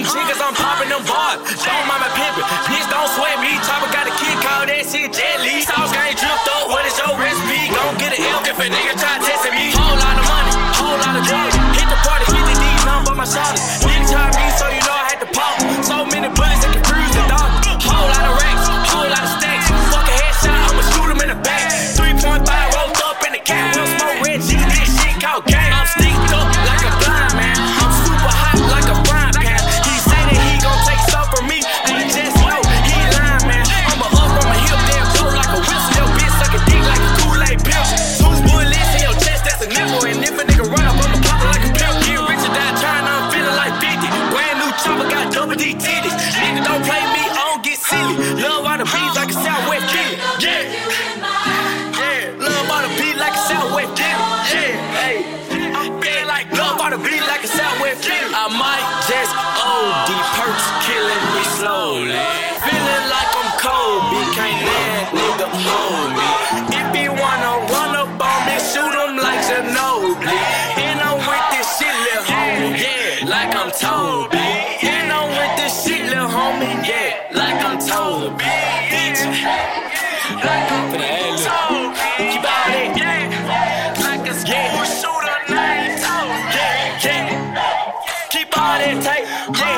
shit cause I'm popping them bars. Don't mind my pimpin', bitch don't sweat me. Chopper got a kid, call that shit jelly. Sauce game dripped up, what is your recipe? Gon' get an L if a nigga try testing me. Whole lot of money, whole lot of drugs. Hit the party, 50 D's, nothing but my shoulders. Nigga try me, so you know I had to pop. So many bullets that can cruise the dog. Whole lot of racks, whole lot of stacks. Fuck a headshot, I'ma shoot him in the back. 3.5 rolled up in the cat. We'll smoke red G, this shit called gang. I'm sticked up like a blind man. I'm super hot like a frying pan. He say that he gon' take stuff from me, and he just know he lying, man. I'ma up from a hip, damn go like a whistle. Your bitch suck a dick like a Kool-Aid pimp. Two bullets in your chest, that's a nipple. And if a nigga run up, I'ma pop it like a pimp. Get rich or die trying, I'm feeling like 50. Brand new chopper, got double D titties. Nigga don't play me, I don't get silly. Love all the beats like a Southwest Philly. Yeah, yeah. Love all the beat like a Southwest Philly. Yeah, hey. I'm feeling like love all the beat like a Southwest Philly. I might just OD, perks killing me slowly. Feeling like I'm Kobe, can't let nigga hold me. If he wanna run up on me, shoot him like Ginobili. And I'm with this shit, lil' homie, yeah, like I'm Toby. And I'm with this shit, lil' homie, yeah, like I'm Toby. Bitch, like I'm Toby. Keep out it, yeah, like a school shooter named Toby. Yeah, yeah. Keep all that tape, yeah.